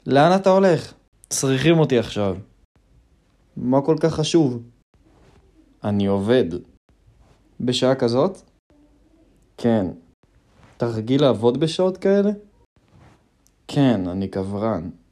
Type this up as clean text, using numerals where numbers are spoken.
לאן אתה הולך? צריכים אותי עכשיו. מה כל כך חשוב? אני עובד. בשעה כזאת? כן. אתה רגיל לעבוד בשעות כאלה? כן, אני קברן.